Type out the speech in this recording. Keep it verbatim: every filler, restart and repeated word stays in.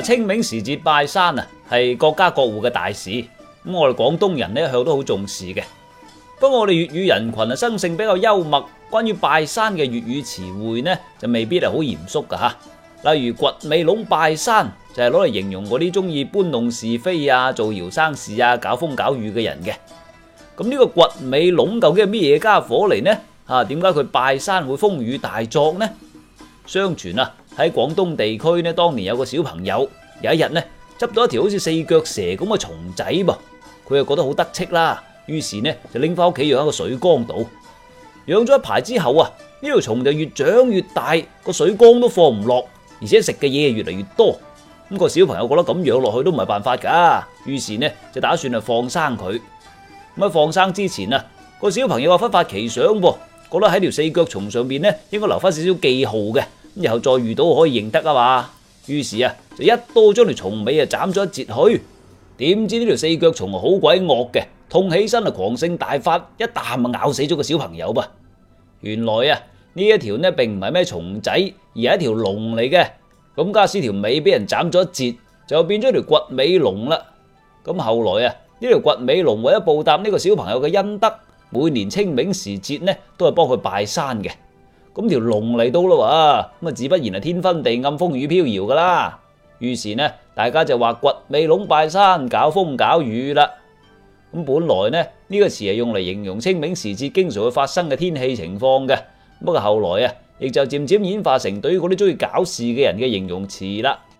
嗱，清明時節拜山啊，係各家各戶嘅大事。咁我哋廣東人呢，一向都好重視嘅。不過我哋粵語人群啊，生性比較幽默，關於拜山嘅粵語詞彙呢，就未必係好嚴肅噶吓。例如掘尾籠拜山，就係攞嚟形容嗰啲中意搬弄是非啊、造謠生事啊、搞風搞雨嘅人嘅。咁呢個掘尾籠究竟係咩嘢家伙嚟呢？啊，點解佢拜山會風雨大作呢？相傳啊，喺廣東地區呢，當年有個小朋友有一日呢，執到一條好似四腳蛇咁嘅蟲仔噃，佢又覺得好得戚啦，於是呢就拎翻屋企養喺個水缸度。養咗一排之後啊，呢條蟲就越長越大，個水缸都放唔落，而且食嘅嘢越嚟越多。咁個小朋友覺得咁養落去都唔係辦法噶，於是呢就打算啊放生佢。咁喺放生之前啊，個小朋友啊忽發奇想噃，覺得喺條四腳蟲上邊呢應該留翻少少記號嘅。咁然後再遇到可以認得啊嘛，於是啊就一刀將條蟲尾啊斬咗一截去。點知呢條四腳蟲好鬼惡嘅，痛起身啊狂性大發，一啖啊咬死咗個小朋友噃。原來啊呢一條呢並唔係咩蟲仔，而係一條龍嚟嘅。咁家私條尾俾人斬咗一截，就變咗條掘尾龍啦。咁後來啊呢條掘尾龍為咗報答呢個小朋友嘅恩德，每年清明時節呢都係幫佢拜山嘅。咁條龍嚟到啦，咁啊自不然係天昏地暗、風雨飄搖噶啦。於是呢，大家就話掘尾籠拜山，搞風搞雨啦。咁本來呢呢個詞係用嚟形容清明時節經常會發生嘅天氣情況嘅。不過後來啊，亦就漸漸演化成對於嗰啲中意搞事嘅人嘅形容詞啦。